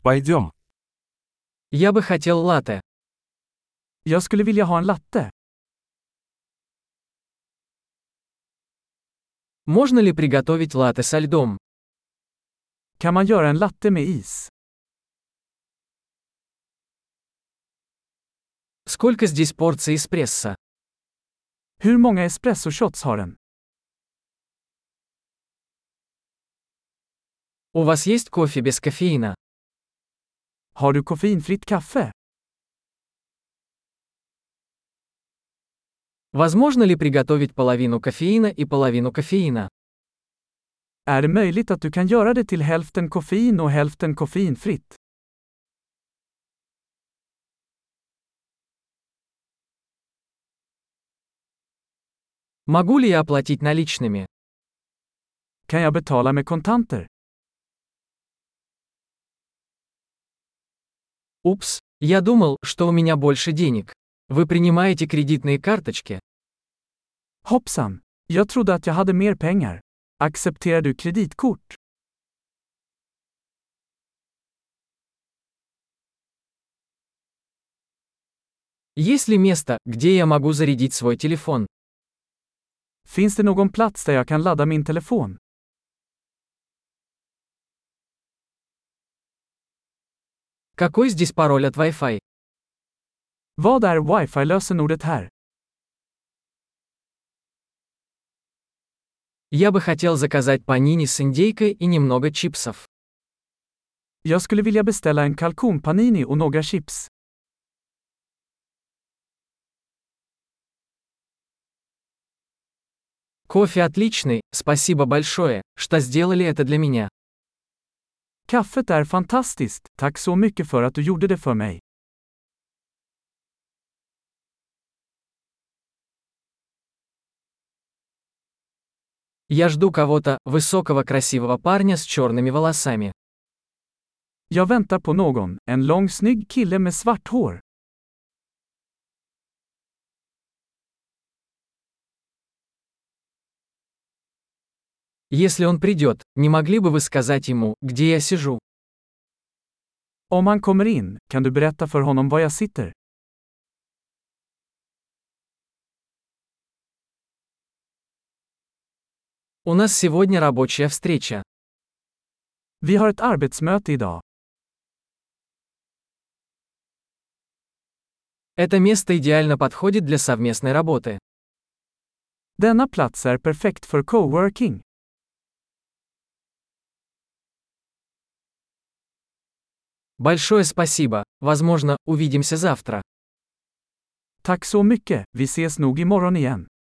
Пойдем. Я бы хотел латте. Jag skulle vilja ha en latte. Можно ли приготовить латте со льдом? Kan man göra en latte med is? Сколько здесь порций эспрессо? Hur många espresso-shots har den? У вас есть кофе без кофеина? Har du koffeinfritt kaffe? Возможно ли приготовить половину кофеина и половину кофеина? Är det möjligt att du kan göra det till hälften koffein och hälften koffeinfritt? Могу ли я оплатить наличными? Kan jag betala med kontanter? Упс, я думал, что у меня больше денег. Вы принимаете кредитные карточки? Hoppsan! Jag trodde att jag hade mer pengar. Accepterar du kreditkort? Есть ли место, где я могу зарядить свой телефон? Finns det någon plats där jag kan ladda min telefon? Какой здесь пароль от Wi-Fi? Vad är wifi-lösenordet här? Я бы хотел заказать панини с индейкой и немного чипсов. Jag skulle vilja beställa en kalkonpanini och några chips. Кофе отличный, спасибо большое, что сделали это для меня. Kaffet är fantastiskt, tack så mycket för att du gjorde det för mig. Я жду кого-то, высокого красивого парня с черными волосами. Jag väntar på någon, en lång snygg kille med svart hår. Если он придет, не могли бы вы сказать ему, где я сижу? Om han kommer in, kan du berätta för honom var jag sitter? У нас сегодня рабочая встреча. Vi har ett arbetsmöte idag. Это место идеально подходит для совместной работы. Denna plats är perfekt för coworking. Большое спасибо, возможно, увидимся завтра. Tack så mycket, vi ses nog imorgon igen.